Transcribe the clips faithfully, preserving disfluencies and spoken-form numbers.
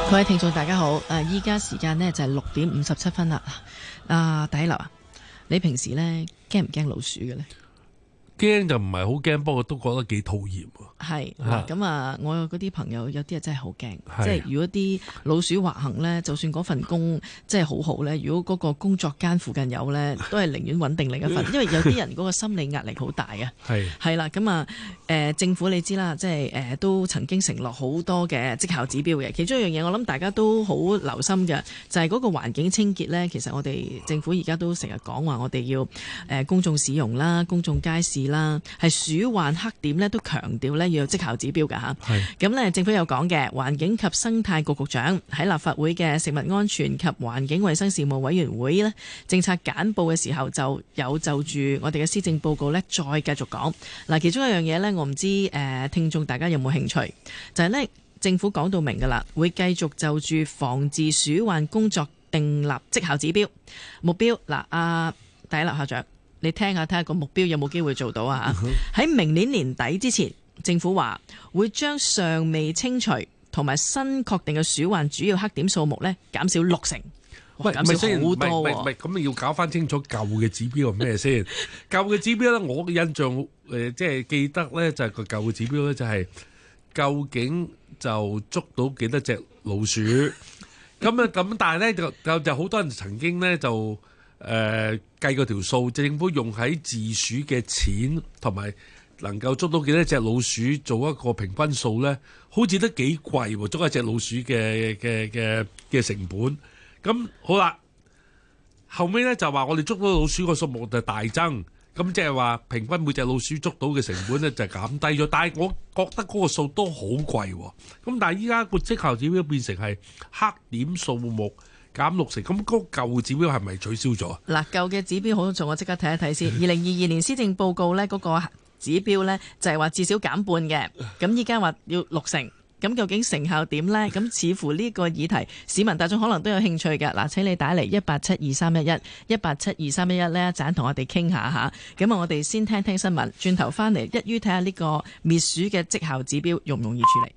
各位聽眾大家好，誒依家時間呢就係六點五十七分啦。啊，第一樓啊，你平時呢驚唔驚老鼠嘅呢？ 驚就唔係好驚，不過都覺得幾討厭喎。 係嗱，咁啊，我有嗰啲朋友有啲啊真係好驚，即係如果啲老鼠橫行呢，就算嗰份工即係好好呢，如果嗰個工作間附近有呢，都係寧願揾定另一份，因為有啲人嗰個心理壓力好大啊。係係啦，咁啊，誒政府你知啦，即係誒都曾經承諾好多嘅績效指標嘅，其中一樣嘢我諗大家都好留心嘅，就係嗰個環境清潔呢。其實我哋政府而家都成日講話，我哋要誒公眾市容啦、公眾街市啦，係鼠患黑點呢，都強調呢。要有績效指標㗎嚇，咁呢政府有講嘅，環境及生態局局長喺立法會嘅食物安全及環境衛生事務委員會呢政策簡報嘅時候，就有就住我哋嘅施政報告呢再繼續講嗱。其中一樣嘢呢，我唔知誒、呃、聽眾大家有冇興趣，就係、是、呢政府講到明㗎啦，會繼續就住防治鼠患工作訂立績效指標目標嗱。阿第一樓校長，你聽下睇下個目標有冇機會做到啊？喺明年年底之前。政府話會將尚未清除同埋新確定嘅鼠患主要黑點數目咧減少六成， 喂， 減少好多喎。 唔係唔係，咁你要搞翻清楚舊嘅指標係咩先？舊嘅指標咧，我嘅印象誒、呃，即係記得咧，就係、是、個舊嘅指標咧，就係、是、究竟就捉到幾多隻老鼠？咁啊咁，但係咧就就就好多人曾經咧就誒、呃、計過條數，政府用喺治鼠嘅錢同埋。能夠捉到幾多隻老鼠做一個平均數呢？好似都幾貴喎，捉一隻老鼠嘅嘅嘅嘅成本。咁好啦，後尾呢就話我哋捉到老鼠個數目就大增，咁即係話平均每隻老鼠捉到嘅成本呢就減低咗。但係我覺得嗰個數都好貴喎。咁但係依家個績效指標變成係黑點數目減六成，咁嗰個舊指標係咪取消咗？ 嗱，舊嘅指標好重，我即刻睇一睇先。二零二二年施政報告呢嗰、嗰個指標呢就係話至少減半嘅，咁依家話要六成，咁究竟成效點呢？咁似乎呢個議題市民大眾可能都有興趣嘅。嗱，請你打嚟一八七二三一一一八七二三一一呢一陣同我哋傾下吓。咁啊，我哋先聽聽新聞，轉頭翻嚟一於睇下呢個滅鼠嘅績效指標容唔容易處理。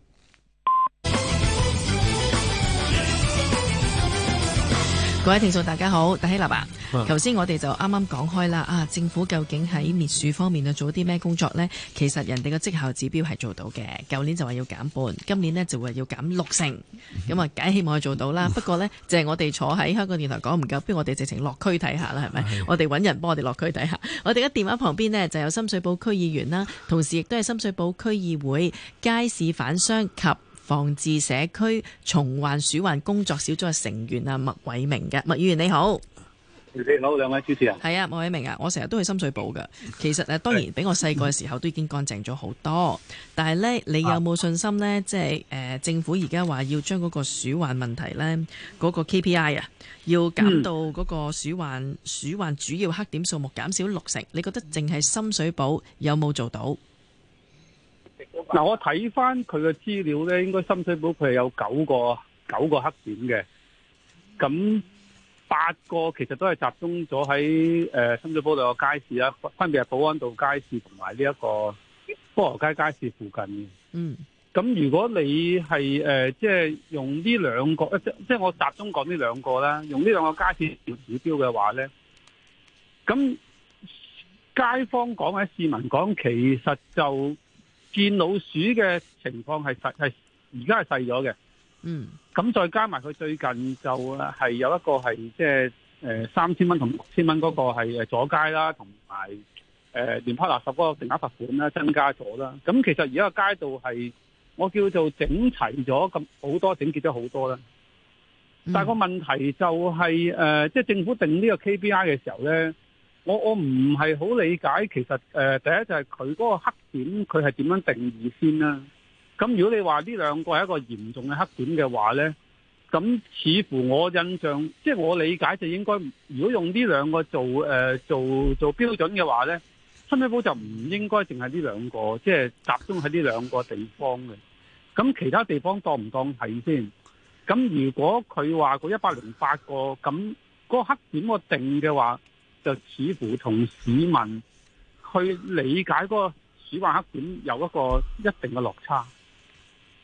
各位聽眾大家好，戴希立啊，頭先我哋就啱啱講開啦，啊政府究竟喺滅鼠方面啊做啲咩工作呢？其實人哋嘅績效指標係做到嘅，舊年就話要減半，今年呢就話要減六成，咁啊梗係希望佢做到啦。不過呢，就係、是、我哋坐喺香港電台講唔夠，不如我哋直情落區睇下啦，係咪？我哋揾人幫我哋落區睇下。我哋嘅電話旁邊呢，就有深水埗區議員啦，同時亦都係深水埗區議會街市販商及防治社區蟲患鼠患工作小組嘅成員啊，麥偉明嘅。麥議員你好。 你好，兩位主持人。 係啊，麥偉明啊，我成日都去深水埗㗎。其實誒，當然比我細個嘅時候都已經乾淨咗好多。但係呢，你有冇信心呢？即係誒，政府而家話要將嗰個鼠患問題呢，嗰、嗰個 K P I 啊，要減到嗰個鼠患、嗯、鼠患主要黑點數目減少六成。你覺得淨係深水埗有冇做到？ 嗱，我睇翻佢嘅資料咧，應該深水埗佢係有九個九個黑點嘅，咁八個其實都係集中咗喺誒深水埗兩個街市啦，分別係保安道街市同埋呢一個菠蘿街街市附近嘅。嗯，咁如果你係誒即係用呢兩個，即即係我集中講呢兩個啦，用呢兩個街市做指標嘅話咧，咁街坊講或者市民講，其實就見老鼠嘅情況係細係而家係細咗嘅，嗯，咁再加埋佢最近就係有一個係即係誒三千蚊同六千蚊嗰個係誒阻街啦，同埋誒亂拋垃圾嗰個定額罰款啦增加咗啦。咁其實而家個街道係我叫做整齊咗咁好多，整潔咗好多啦。但係個問題就係誒即係政府定呢個 K P I 嘅時候咧。我我唔係好理解，其實誒、呃、第一就係佢嗰個黑點，佢係點樣定義先啦？咁如果你話呢兩個係一個嚴重嘅黑點嘅話咧，咁似乎我印象，即係我理解就應該，如果用呢兩個做誒、呃、做做標準嘅話咧，深水埗就唔應該淨係呢兩個，即係集中喺呢兩個地方嘅。咁其他地方當唔當係先？咁如果佢話個一百零八個，咁嗰個黑點個定嘅話，就似乎同市民去理解嗰個鼠患黑點有一個一定嘅落差。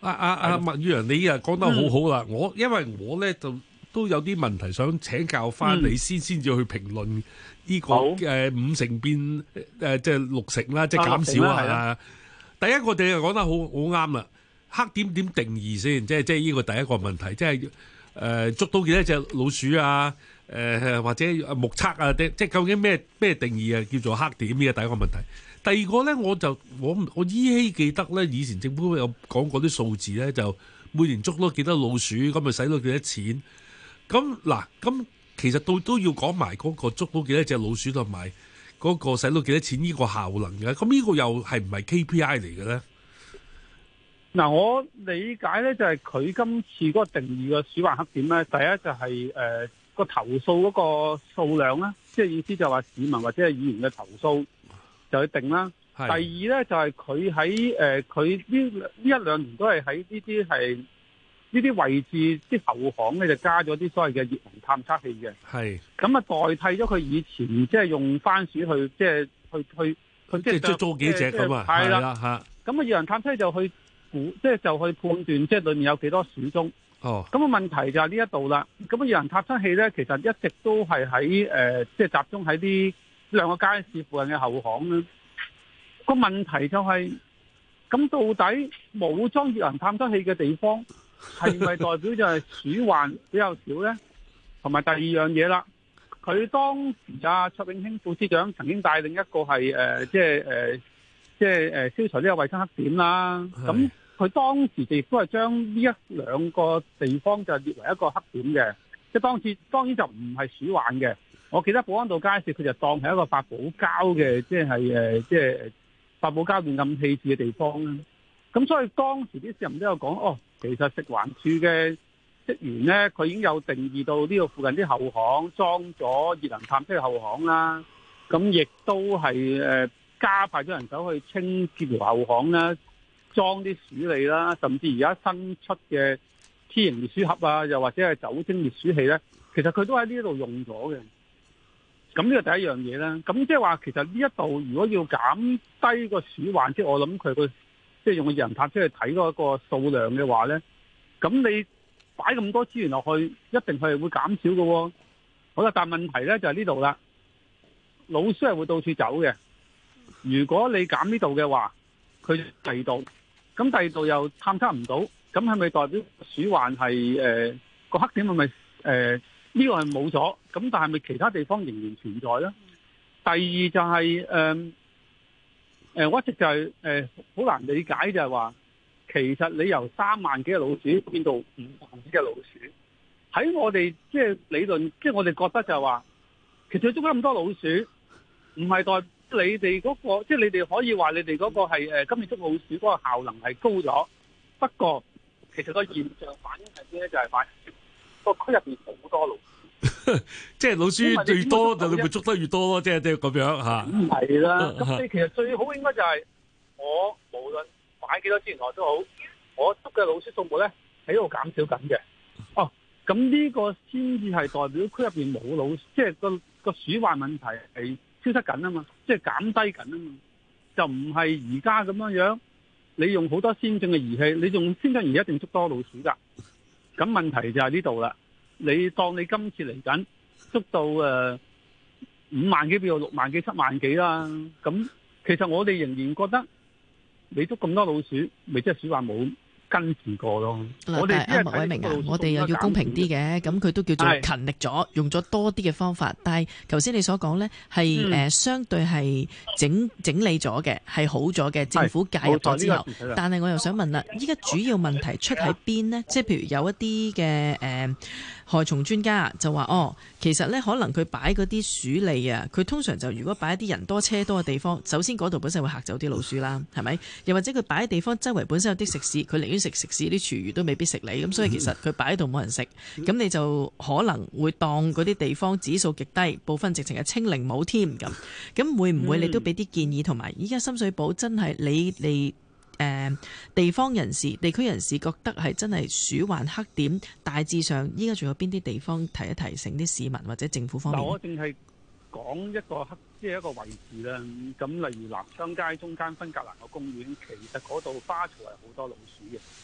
阿阿阿麥宇陽，你啊講得好好啦。我因為我咧就都有啲問題想請教翻你先，先至去評論呢個誒五成變誒即係六成啦，即係減少啊。第一個你又講得好好啱啦，黑點點定義先，即係即係呢個第一個問題，即係誒捉到幾多隻老鼠啊？誒或者目測啊？即係究竟咩咩定義啊？叫做黑點呢個第一個問題。第二個咧，我就我我依稀記得咧，以前政府有講過啲數字咧，就每年捉到幾多老鼠，咁咪使到幾多錢。咁嗱，咁其實到都要講埋嗰個捉到幾多隻老鼠同埋嗰個使到幾多錢呢個效能嘅。咁呢個又係唔係 K P I 嚟嘅咧？ 嗱，我理解咧就係佢今次嗰個定義嘅鼠患黑點咧，第一就係誒個投訴嗰個數量啦，即係意思就係話市民或者係議員嘅投訴。就去定啦。第二咧就係佢喺誒佢呢呢一兩年都係喺呢啲係呢啲位置啲後巷咧就加咗啲所謂嘅熱能探測器嘅。係咁啊，代替咗佢以前即係用番薯去即係去去去即係捉捉幾隻咁啊。係啦嚇。咁啊，熱能探測器就去估，即係就去判斷即係裡面有幾多鼠蹤。哦。咁啊，問題就係呢一度啦。咁啊，熱能探測器咧其實一直都係喺誒即係集中喺啲兩個街市附近嘅後巷咧，個問題就係、是，咁到底冇裝熱能探測器嘅地方，係咪代表就係鼠患比較少呢？同埋第二樣嘢啦，佢當時啊卓永興副司長曾經帶領一個係誒、呃，即係誒、呃，即係誒消除呢個衞生黑點啦。咁佢當時亦都係將呢一兩個地方就列為一個黑點嘅，即係當時當然就唔係鼠患嘅。我記得保安道街市佢就當係一個發泡膠嘅，即係誒，即係發泡膠亂咁棄置嘅地方啦。咁所以當時啲市民都有講，哦，其實食環署嘅職員咧，佢已經有定義到呢個附近啲後巷裝咗熱能探測嘅後巷啦。咁亦都係誒加派咗人手去清潔條後巷啦，裝啲鼠餌啦，甚至而家新出嘅 T 型滅鼠盒啊，又或者係酒精滅鼠器咧，其實佢都喺呢度用咗嘅。咁呢個第一樣嘢啦，咁即係話其實呢一度如果要減低個鼠患，即係我諗佢個即係用個熱能探測去睇嗰個數量嘅話咧，咁你擺咁多資源落去，一定係會減少嘅喎。好啦，但係問題咧就係呢度啦，老鼠係會到處走嘅。如果你減呢度嘅話，佢第二度，咁第二度又探測唔到，咁係咪代表鼠患係誒個黑點係咪誒？呃呢個係冇咗，咁但係咪其他地方仍然存在咧？第二就係誒誒，我一直就係誒好難理解就係話，其實你由三萬幾隻老鼠變到五萬幾隻老鼠，喺我哋即係理論，即係我哋覺得就係話，其實捉咗咁多老鼠，唔係代表你哋嗰個，即係你哋可以話你哋嗰個係誒今年捉老鼠嗰個效能係高咗。不過其實個現象反映係咩咧？就係反映個區入邊好多老鼠，即係老鼠最多就你會捉得越多咯，即係即係咁樣嚇。咁係啦，咁你其實最好應該就係我無論擺幾多資源落都好，我捉嘅老鼠數目咧喺度減少緊嘅。哦，咁呢個先至係代表區入邊冇老鼠，即係個個鼠患問題係消失緊啊嘛，即係減低緊啊嘛，就唔係而家咁樣樣。你用好多先進嘅儀器，你用先進儀器一定捉多老鼠㗎。咁問題就係呢度啦。你當你今次嚟緊捉到誒五萬幾，變到六萬幾、七萬幾啦。咁其實我哋仍然覺得你捉咁多老鼠，咪即係鼠患冇跟住過咯。我哋阿麥偉明啊，我哋又要公平啲嘅，咁佢都叫做勤力咗，用咗多啲嘅方法。但係頭先你所講呢，係誒相對係整整理咗嘅，係好咗嘅。政府介入咗之後，但係我又想問啦，依家主要問題出喺邊呢？即係譬如有一啲嘅誒害蟲專家就話，哦，其實呢，可能佢擺嗰啲鼠餌啊，佢通常就如果擺一啲人多車多嘅地方，首先嗰度本身會嚇走啲老鼠啦，係咪？又或者佢擺喺地方周圍本身有啲食肆，佢寧願食食肆啲廚餘都未必食你，咁所以其實佢擺喺度冇人食，咁你就可能會當嗰啲地方指數極低，部分直情係清零冇添咁。咁會唔會你都俾啲建議？同埋依家深水埗真係你哋誒、呃、地方人士、地區人士覺得係真係鼠患黑點，大致上依家仲有邊啲地方提一提醒啲市民或者政府方面？我淨係講一個黑，即係一個位置啦。咁例如南昌街中間分隔欄個公園，其實嗰度花槽係好多老鼠嘅。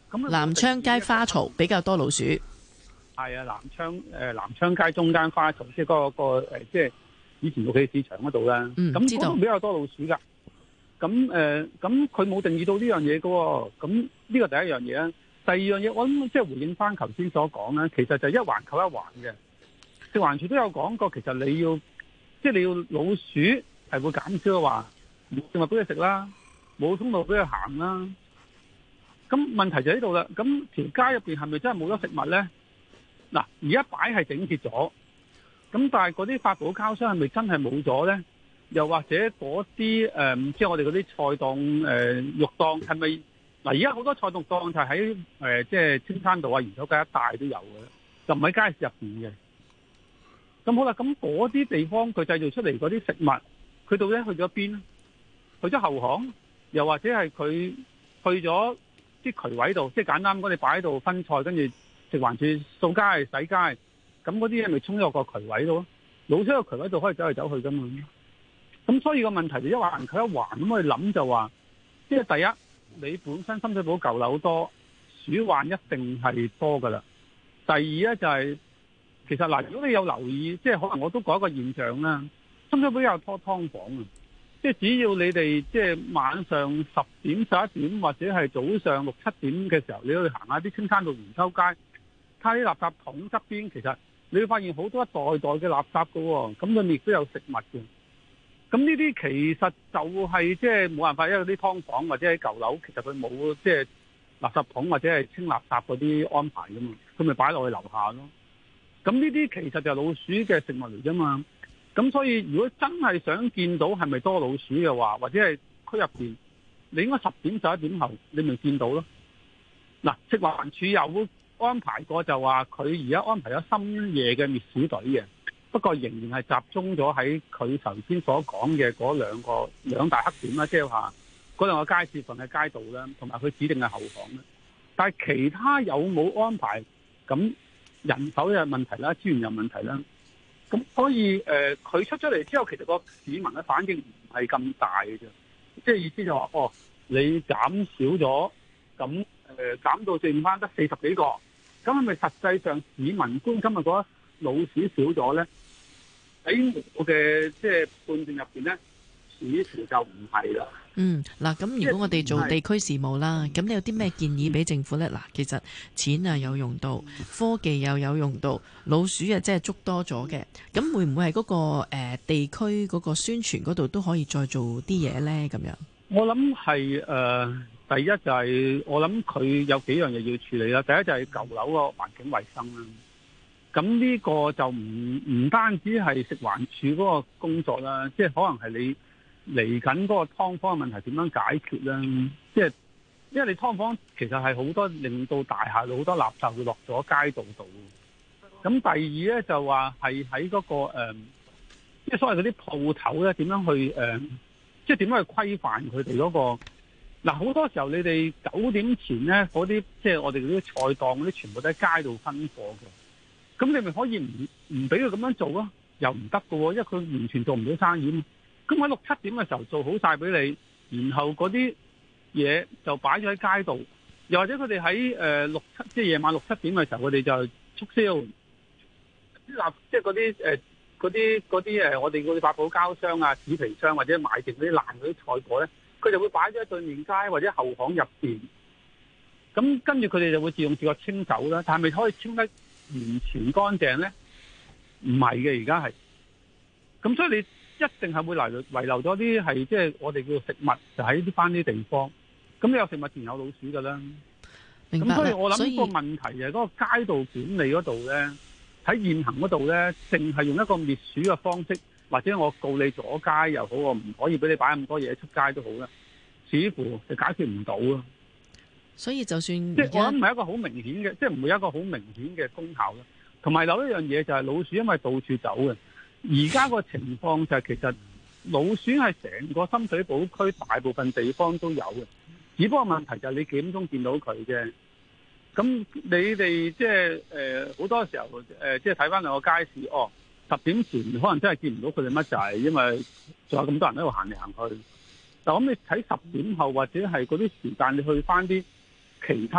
咁南昌街花槽比較多老鼠。 係啊，南昌誒、呃、南昌街中間花槽，即係嗰、那個、呃、即係以前屋企市場嗰度啦。 嗯， 咁知道。 嗰度比較多老鼠㗎。咁誒，咁佢冇定義到呢樣嘢㗎喎。咁呢個第一樣嘢啊。第二樣嘢，我諗即係回應翻頭先所講啦，其實就一環扣一環嘅。食環署都有講過，其實你要即係你要老鼠係會減少嘅話，冇食物俾佢食啦，冇通道俾佢行啦。咁問題就喺度啦。咁條街入邊係咪真係冇咗食物咧？嗱，而家擺係整潔咗，咁但係嗰啲發泡膠箱係咪真係冇咗咧？又或者嗰啲誒，即係我哋嗰啲菜檔誒、呃、肉檔係咪？嗱，而家好多菜檔檔就喺誒即係青山道啊、鹽洲街一帶都有嘅，就唔喺街市入邊嘅。咁好啦，咁嗰啲地方佢製造出嚟嗰啲食物，佢到底去咗邊咧？去咗後巷，又或者係佢去咗啲渠位度，即係簡單講，你擺喺度分菜，跟住食環署掃街洗街，咁嗰啲嘢咪沖咗個渠位度咯？老鼠個渠位度可以走嚟走去噶嘛？咁所以個問題就一環扣一環，咁我哋諗就話，即係第一，你本身深水埗舊樓多，鼠患一定係多噶啦。第二咧就係、是，其實嗱，如果你有留意，即係可能我都講一個現象啦，深水埗有拖劏房啊，即係只要你哋即係晚上十點十一點或者係早上六七點嘅時候，你去行下啲青山道、鹽洲街，睇下啲垃圾桶側邊，其實你會發現好多一袋袋嘅垃圾噶喎，咁裏面亦都有食物嘅。咁呢啲其實就係即係冇辦法，因為啲劏房或者喺舊樓，其實佢冇即係垃圾桶或者係清垃圾嗰啲安排噶嘛，佢咪擺落去樓下咯。咁呢啲其實就係老鼠嘅食物嚟啫嘛。咁所以如果真係想見到係咪多老鼠嘅話，或者係區入邊，你應該十點十一點後你咪見到咯。嗱，食環署有安排過就話佢而家安排咗深夜嘅滅鼠隊嘅。不過仍然係集中咗喺佢頭先所講嘅嗰兩個兩大黑點啦，即係話嗰兩個街市份嘅街道啦，同埋佢指定嘅後巷啦。但係其他有冇安排？咁人手有問題啦，資源有問題啦。咁所以誒，佢、呃、出咗嚟之後，其實個市民嘅反應唔係咁大嘅啫。即係意思就話，哦，你減少咗，咁誒、呃、減到剩翻得四十幾個，咁係咪實際上市民觀今日覺得老鼠少咗咧？喺我嘅即係判斷入邊咧，似乎就唔係啦。 嗯，嗱，咁如果我哋做地區事務啦，咁你有啲咩建議俾政府咧？嗱，其實錢啊有用到，科技又有用到，老鼠啊即係捉多咗嘅，咁會唔會係嗰個誒地區嗰個宣傳嗰度都可以再做啲嘢咧？咁樣，我諗係誒，第一就係我諗佢有幾樣嘢要處理啦。第一就係舊樓個環境衛生啦。咁呢個就唔唔單止係食環署嗰個工作啦，即係可能係你嚟緊嗰個劏房嘅問題點樣解決啦？即係因為你劏房其實係好多令到大廈好多垃圾會落咗街道度。咁第二咧就話係喺嗰個誒，即係所謂嗰啲鋪頭咧點樣去誒，即係點樣去規範佢哋嗰個。嗱，好多時候你哋九點前咧嗰啲即係我哋嗰啲菜檔嗰啲全部都喺街度分貨嘅。咁你咪可以唔唔俾佢咁樣做咯？又唔得㗎喎，因為佢完全做唔到生意嘛。咁喺六七點嘅時候做好晒俾你，然後嗰啲嘢就擺咗喺街度，又或者佢哋喺誒六七即係夜晚六七點嘅時候，佢哋就促銷啲即係嗰啲誒嗰啲嗰啲誒我哋嗰啲發泡膠箱啊、紙皮箱或者買剩嗰啲爛嗰啲菜果咧，佢就會擺咗喺對面街或者後巷入邊。咁跟住佢哋就會自動自覺清走啦。但係咪可以清得完全乾淨咧？唔係嘅，而家係咁，所以你一定係會遺留遺留咗啲係即係我哋叫食物，就喺啲翻啲地方。咁你有食物自然有老鼠噶啦。明白。咁所以我諗個問題就係嗰個街道管理嗰度咧，喺現行嗰度咧，淨係用一個滅鼠嘅方式，或者我告你阻街又好，我唔可以俾你擺咁多嘢出街都好啦，似乎就解決唔到啊。所以就算即係我諗唔係一個好明顯嘅，即係唔會有一個好明顯嘅功效咯。同埋有一樣嘢就係老鼠，因為到處走嘅。而家個情況就係其實老鼠係成個深水埗區大部分地方都有嘅，只不過問題就係你幾點鐘見到佢啫。咁你哋即係誒好多時候誒，即係睇翻兩個街市，哦，十點前可能真係見唔到佢哋乜滯，因為仲有咁多人喺度行嚟行去。但咁你睇十點後或者係嗰啲時間，你去翻啲其他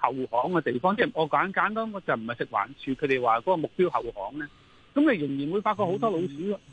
後巷嘅地方，即係我簡簡單，我就唔係食環署佢哋話嗰個目標後巷咧，咁你仍然會發覺好多老鼠咯。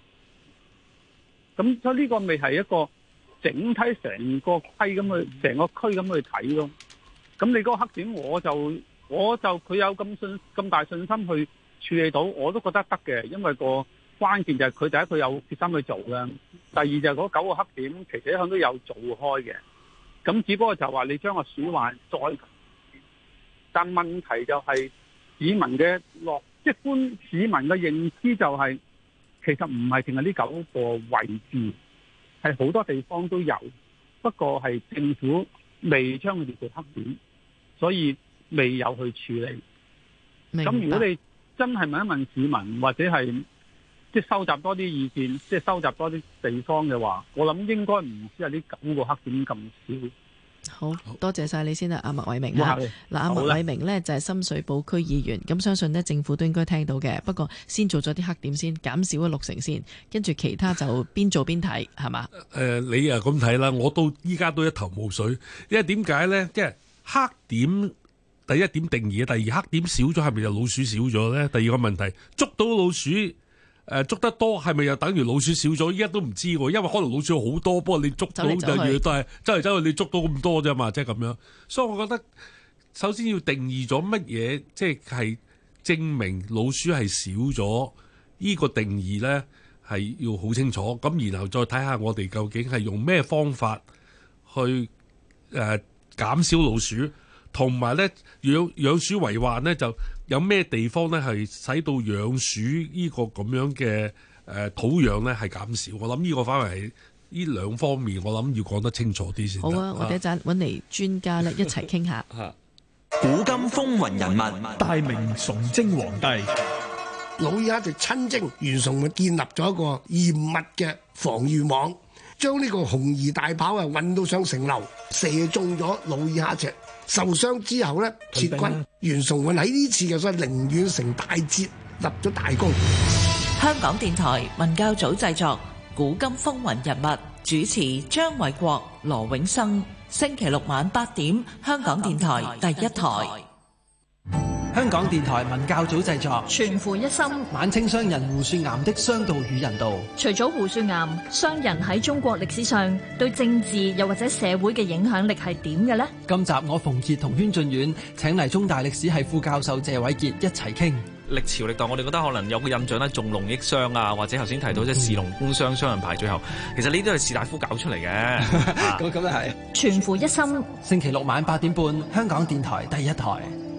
咁所以呢個咪係一個整體成個區咁去，成個區咁去睇咯。咁你嗰個黑點，我就我就佢有咁信咁大信心去處理到，我都覺得得嘅，因為個關鍵就係佢第一佢有決心去做啦，第二就係嗰九個黑點其實一向都有做開嘅，咁只不過就話你將個鼠患再，但問題就係市民嘅落，即係般市民嘅認知就係、是、其實唔係淨係呢九個位置，係好多地方都有，不過係政府未將佢哋做黑點，所以未有去處理。咁如果你真係問一問市民，或者係即係收集多啲意見，即係收集多啲地方嘅話，我諗應該唔止係呢九個黑點咁少。 好多謝晒你先啦，阿麥偉明啊。嗱，阿麥偉明呢就係深水埗區議員，咁相信呢政府都應該聽到嘅。不過先做咗啲黑點先，減少咗六成先，跟住其他就邊做邊睇，係嘛？誒、 呃，你啊咁睇啦，我到依家都一頭霧水，因為點解呢？即係黑點第一點定義，第二黑點少咗係咪就老鼠少咗呢？第二個問題，捉到老鼠。誒，捉得多係咪又等於老鼠少咗？依家都唔知喎，因為可能老鼠好多，不過你捉到就越都係走嚟走去，你捉到咁多啫嘛，即係咁樣。所以我覺得首先要定義咗乜嘢，即係證明老鼠係少咗，呢個定義呢係要好清楚。咁然後再睇下我哋究竟係用咩方法去誒、呃、減少老鼠，同埋呢養養鼠為患呢就。有咩地方咧係使到養鼠呢個咁樣嘅誒土壤咧係減少？我諗呢個範圍係呢兩方面，我諗要講得清楚啲先。 好啊，我哋一陣揾嚟專家咧一齊傾下。 古今風雲人物， 大明崇禎皇帝， 努爾哈赤親征，袁崇煥建立咗一個嚴密嘅防禦網，將呢個紅夷大炮啊運到上城樓，射中咗努爾哈赤。受傷之後呢，撤軍。袁崇煥喺呢次嘅所謂寧遠城大捷立咗大功。 香港電台文教組製作《古今風雲人物》，主持張偉國、羅永生。星期六晚八點，香港電台第一台。 香港電台文教組製作全乎一心， 晚清商人胡雪岩的商道與人道。 除咗胡雪岩，商人喺中國歷史上對政治又或者社會嘅影響力係點嘅呢？ 今集我馮傑同軒俊遠請嚟中大歷史系副教授謝偉傑一齊傾。 歷朝歷代我哋覺得可能有個印象咧，重農抑商啊，或者頭先提到即係士農工商雙人排最後，其實呢啲都係士大夫搞出嚟嘅。 咁咁又係。 全乎一心， 星期六晚八點半，香港電台第一台。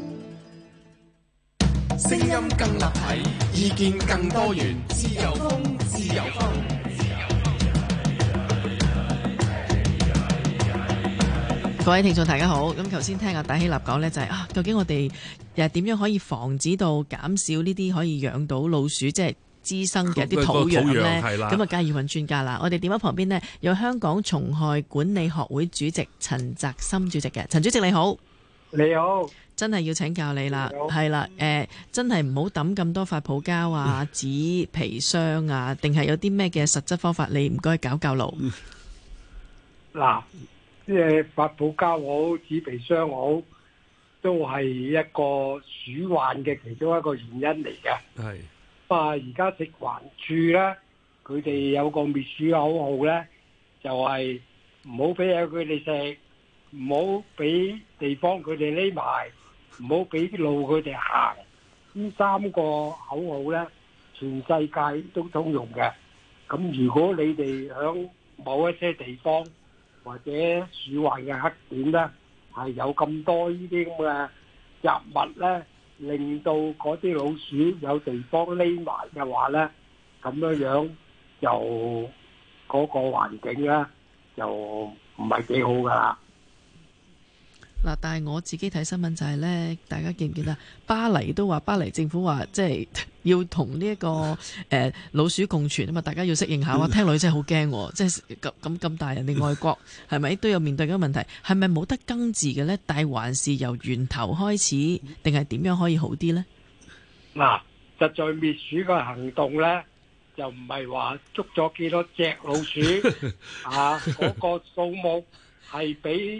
聲音更立體，意見更多元，自由風，自由風。 各位聽眾大家好，咁頭先聽阿戴希立講呢，就係、是、啊，究竟我哋又點樣可以防止到減少呢啲可以養到老鼠，即係滋生嘅啲土壤呢？咁啊，梗係要揾專家啦。我哋電話旁邊呢，有香港蟲害管理學會主席陳澤森主席嘅，陳主席你好。 你好。 真係要請教你啦，係啦，誒、呃，真係唔好抌咁多發泡膠啊、紙皮箱啊，定係有啲咩嘅實質方法？你唔該教教路。 嗱，即係發泡膠好、紙皮箱好，都係一個鼠患嘅其中一個原因嚟嘅。係。啊，而家食環署咧，佢哋有個滅鼠口號咧，就係唔好俾嘢佢哋食，唔好俾地方佢哋匿埋。唔好俾路佢哋行，呢三個口號呢，全世界都通用嘅。咁如果你哋響某一些地方或者鼠患嘅黑點呢，係有咁多呢啲咁嘅雜物呢，令到嗰啲老鼠有地方匿埋嘅話呢，咁樣樣就嗰個環境呢，就唔係幾好噶啦。 嗱，但係我自己睇新聞就係呢，大家記唔記得巴黎都話巴黎政府話即係要同呢一個誒、呃、老鼠共存啊嘛，大家要適應下。我聽落真係好驚，即係咁咁咁大人哋外國係咪都有面對緊問題？係咪冇得根治嘅呢？但係還是由源頭開始，定係點樣可以好啲呢？ 嗱，實在滅鼠嘅行動呢，就唔係話捉咗幾多隻老鼠啊，嗰個數目係比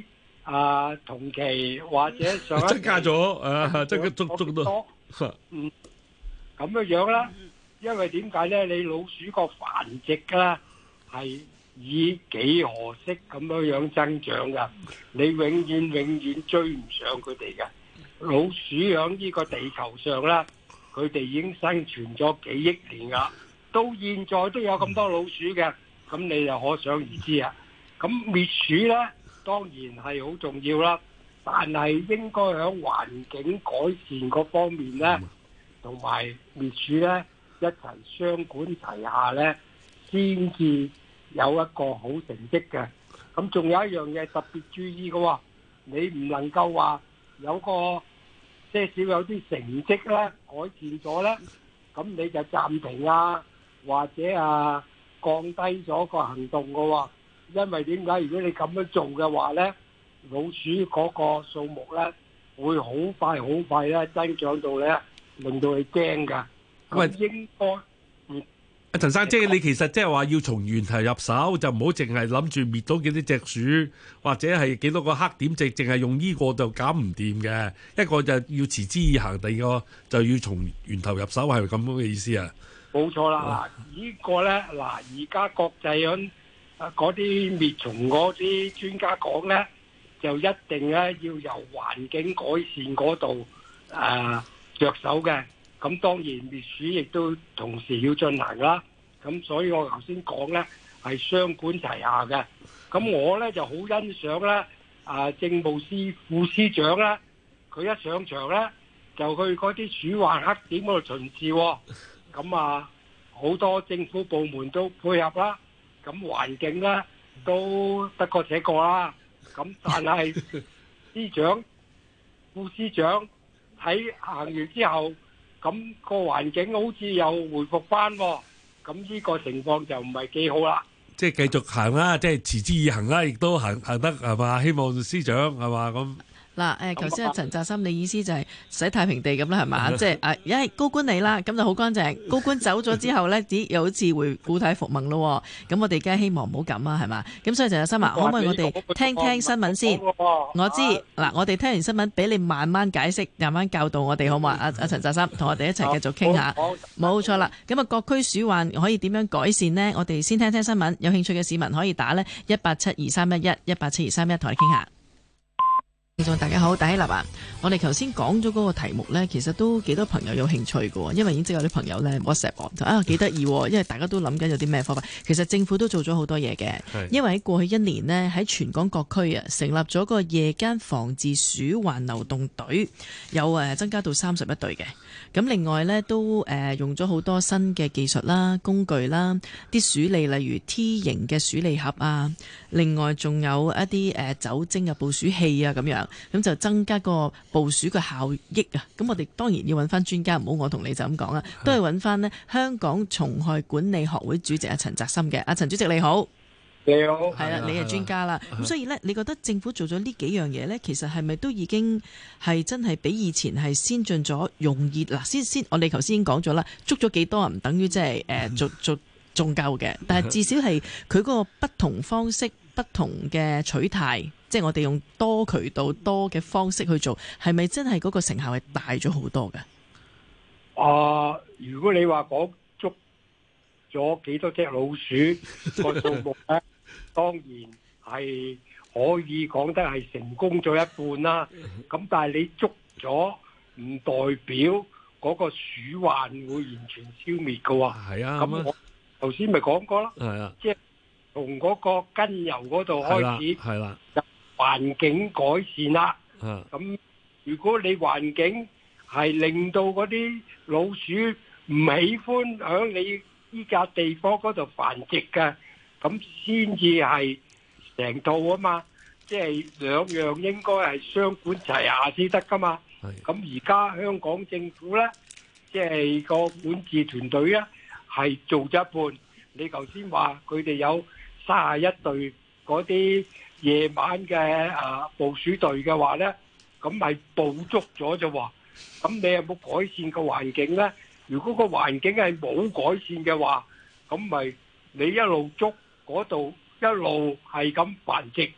啊、呃、同期或者上一增加咗啊，增加足足多。 嗯，咁樣樣啦，因為點解咧？你老鼠個繁殖啦係以幾何式咁樣樣增長噶，你永遠永遠追唔上佢哋嘅。老鼠喺呢個地球上啦，佢哋已經生存咗幾億年啦，到現在都有咁多老鼠嘅，咁你就可想而知啊。咁滅鼠咧，當然係好重要啦，但係應該喺環境改善嗰方面咧，同埋滅鼠咧一齊雙管齊下咧，先至有一個好成績嘅。咁仲有一樣嘢特別注意嘅喎，你唔能夠話有個些少有啲成績咧改善咗咧，咁你就暫停啊，或者啊降低咗個行動嘅喎。因為點解？如果你咁樣做嘅話咧，老鼠嗰個數目咧會好快好快咧增長到咧，令到你驚㗎。 喂， 應該嗯。 阿陳生，即係你其實即係話要從源頭入手，就唔好淨係諗住滅到幾多隻鼠，或者係幾多個黑點，淨淨係用呢個就搞唔掂嘅。一個就要持之以恆，第二個就要從源頭入手，係咪咁樣嘅意思啊？ 冇錯啦，嗱，呢個咧，嗱，而家國際響嗰啲滅蟲嗰啲專家講咧，就一定咧要由環境改善嗰度誒着手嘅。咁當然滅鼠亦都同時要進行啦，咁所以我頭先講咧係雙管齊下嘅。咁我咧就好欣賞咧啊政務司副司長咧，佢一上場咧就去嗰啲鼠患黑點嗰度巡視，咁啊好多政府部門都配合啦，咁環境咧都得過且過啦。咁但係司長副司長喺行完之後，咁個環境好似又回復翻，咁呢個情況就唔係幾好啦。 即係繼續行啦，即係持之以恆啦，亦都行行得係嘛？希望司長係嘛咁。 嗱，誒，頭先阿陳澤森，你意思就係洗太平地咁啦，係嘛？即係誒，一係高官嚟啦，咁就好乾淨。高官走咗之後咧，咦，又好似回故態復萌咯。咁我哋梗係希望唔好咁啊，係嘛？咁所以陳澤森啊，可唔可以我哋聽聽新聞先？我知嗱，我哋聽完新聞，俾你慢慢解釋，慢慢教導我哋，好嘛？阿阿陳澤森，同我哋一齊繼續傾下。冇錯啦。咁啊，各區鼠患可以點樣改善呢？我哋先聽聽新聞。有興趣嘅市民可以打呢一八七二三一一一八七二三一，同你傾下。聽眾大家好，大希立啊！我哋頭先講咗嗰個題目呢，其實都幾多朋友有興趣嘅，因為已經知有啲朋友呢 WhatsApp 我就啊幾得意，因為大家都諗緊有啲咩方法。其實政府都做咗好多嘢嘅，因為喺過去一年呢，喺全港各區啊成立咗個夜間防治鼠患流動隊，有誒增加到三十一隊嘅。咁另外呢，都誒用咗好多新嘅技術啦、工具啦，啲鼠餌例如 T 型嘅鼠餌盒啊，另外仲有一啲誒酒精嘅捕鼠器啊咁樣。咁就增加個捕鼠嘅效益啊！咁我哋當然要揾翻專家，唔好我同你就咁講啦，都係揾翻呢香港蟲害管理學會主席阿陳澤森嘅。阿陳主席你好， 你好， 係啦，你係專家啦。咁所以呢，你覺得政府做咗呢幾樣嘢呢，其實係咪都已經係真係比以前係先進咗，容易嗱？先先，我哋頭先已經講咗啦，捉咗幾多唔等於即係誒做做仲夠嘅，但係至少係佢嗰個不同方式、不同嘅取態。即係我哋用多渠道多嘅方式去做，係咪真係嗰個成效係大咗好多嘅？ 啊、呃，如果你話講捉咗幾多隻老鼠個數目咧，當然係可以講得係成功咗一半啦。咁但係你捉咗唔代表嗰個鼠患會完全消滅噶喎。 係啊， 咁我頭先咪講過咯。 係啊， 即係從嗰個根由嗰度開始。 係啦。 環境改善啦，咁如果你環境係令到嗰啲老鼠唔喜歡喺你依笪地方嗰度繁殖嘅，咁先至係成套啊嘛，即係兩樣應該係雙管齊下先得噶嘛。咁而家香港政府咧，即係個管治團隊咧，係做咗一半。你頭先話佢哋有三十一隊嗰啲夜晚嘅啊捕鼠隊嘅話咧，咁咪捕捉咗啫喎。咁你有冇改善個環境咧？如果個環境係冇改善嘅話，咁咪你一路捉嗰度一路係咁繁殖，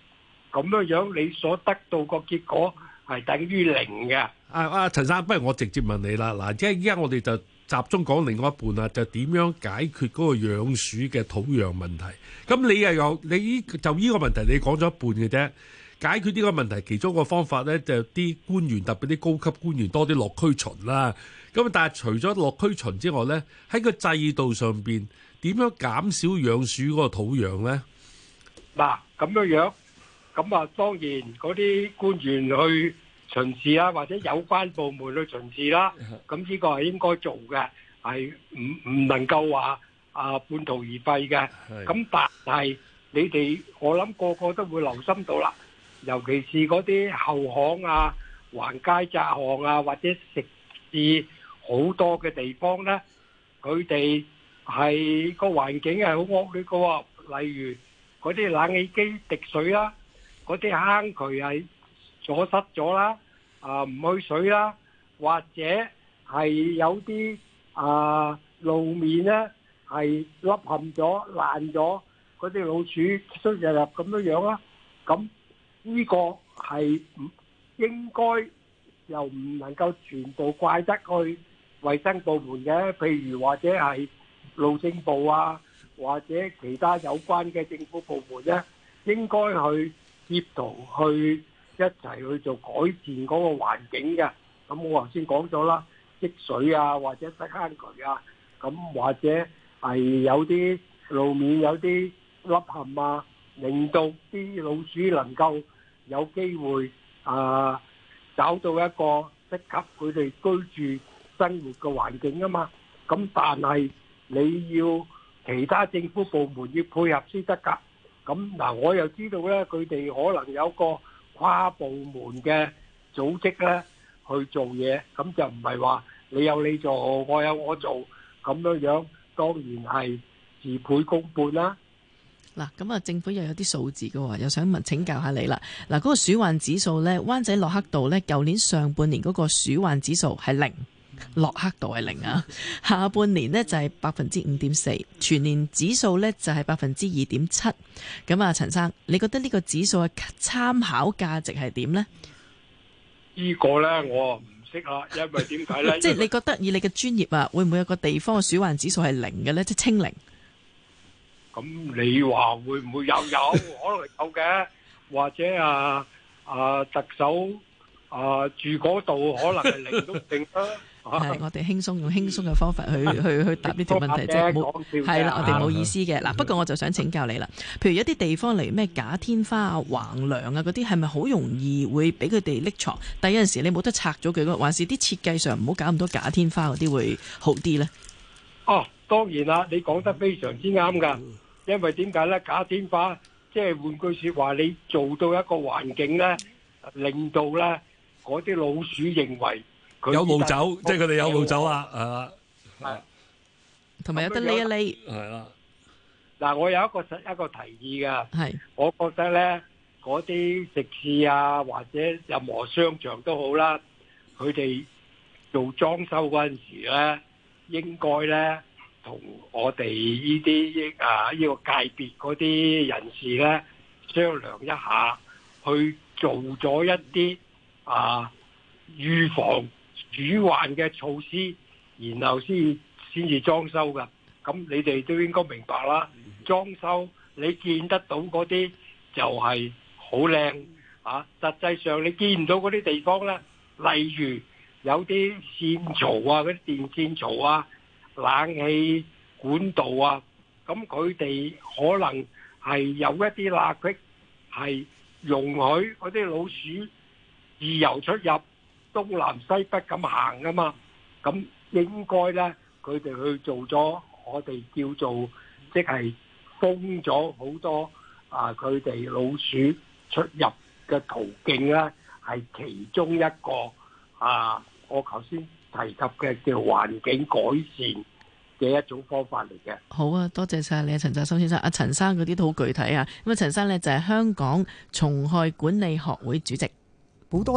咁樣樣你所得到個結果係等於零嘅。 啊啊，陳生，不如我直接問你啦。嗱，即係依家我哋就集中講另外一半啦，就點樣解決嗰個養鼠嘅土壤問題？咁你又有你依就呢個問題，你講咗一半嘅啫。解決呢個問題，其中一個方法咧，就啲官員特別啲高級官員多啲落區巡啦。咁但係除咗落區巡之外咧，喺個制度上邊點樣減少養鼠嗰個土壤咧？ 嗱，咁樣樣，咁啊當然嗰啲官員去巡視啊，或者有關部門去巡視啦，咁呢個係應該做嘅，係唔唔能夠話啊半途而廢嘅。咁但係你哋我諗個個都會留心到啦，尤其是嗰啲後巷啊、橫街窄巷啊，或者食肆好多嘅地方咧，佢哋係個環境係好惡劣嘅喎，例如嗰啲冷氣機滴水啦，嗰啲坑渠係阻塞咗啦，啊唔去水啦，或者係有啲啊路面咧係凹陷咗、爛咗，嗰啲老鼠出入入咁樣樣啦。咁呢個係唔應該又唔能夠全部怪得去衛生部門嘅，譬如或者係路政部啊，或者其他有關嘅政府部門咧，應該去協同去一齊去做改善嗰個環境嘅。咁我頭先講咗啦，積水啊，或者塞坑渠啊，咁或者係有啲路面有啲凹陷啊，令到啲老鼠能夠有機會啊找到一個適合佢哋居住生活嘅環境啊嘛。咁但係你要其他政府部門要配合先得㗎。咁嗱，我又知道咧，佢哋可能有個跨部門嘅組織咧去做嘢，咁就唔係話你有你做，我有我做咁樣樣，當然係事倍功半啦。 嗱，咁啊，政府又有啲數字嘅喎，又想問請教下你啦。嗱，嗰個鼠患指數呢，灣仔駱克道呢，舊年上半年嗰個鼠患指數係零，駱克道係零啊。下半年呢就係百分之五點四，全年指數呢就係百分之二點七。咁啊，陳生，你覺得呢個指數嘅參考價值係點呢？ 呢個呢，我唔識啦，因為點解呢？ 即係你覺得以你嘅專業啊，會唔會有個地方嘅鼠患指數係零嘅呢？即係清零？ 咁你話會唔會有？有可能有嘅，或者啊啊特首啊住嗰度可能係零都定啦。 係，我哋輕鬆用輕鬆嘅方法去去去答呢條問題，即係冇係啦，我哋冇意思嘅。嗱，不過我就想請教你啦，譬如一啲地方例如咩假天花啊、橫梁啊嗰啲，係咪好容易會俾佢哋匿藏？但有陣時你冇得拆咗佢，還是啲設計上唔好搞咁多假天花嗰啲會好啲呢？ 哦，當然啦，你講得非常之啱㗎。因為點解咧？假天花即係換句説話，你做到一個環境咧，令到咧嗰啲老鼠認為佢有路走，即係佢哋有路走啦，係啦， 係， 同埋有得匿一匿， 係啦。 嗱，我有一個實一個提議㗎， 係， 我覺得咧嗰啲食肆啊，或者任何商場都好啦，佢哋做裝修嗰陣時咧，應該咧。同我哋呢啲啊呢個界別嗰啲人士咧商量一下，去做咗一啲啊預防鼠患嘅措施，然後先先至裝修㗎。咁你哋都應該明白啦。裝修你見得到嗰啲就係好靚啊，實際上你見唔到嗰啲地方咧，例如有啲線槽啊，嗰啲電線槽啊。冷氣管道啊，咁佢哋可能係有一啲罅隙，係容許嗰啲老鼠自由出入，東南西北咁行噶嘛。咁應該咧，佢哋去做咗我哋叫做即係封咗好多啊，佢哋老鼠出入嘅途徑咧，係其中一個啊，我頭先提及嘅叫環境改善嘅一種方法嚟嘅。 好啊，多謝晒你啊，陳澤森先生。阿陳生嗰啲都好具體啊。咁啊，陳生呢就係香港蟲害管理學會主席。 好多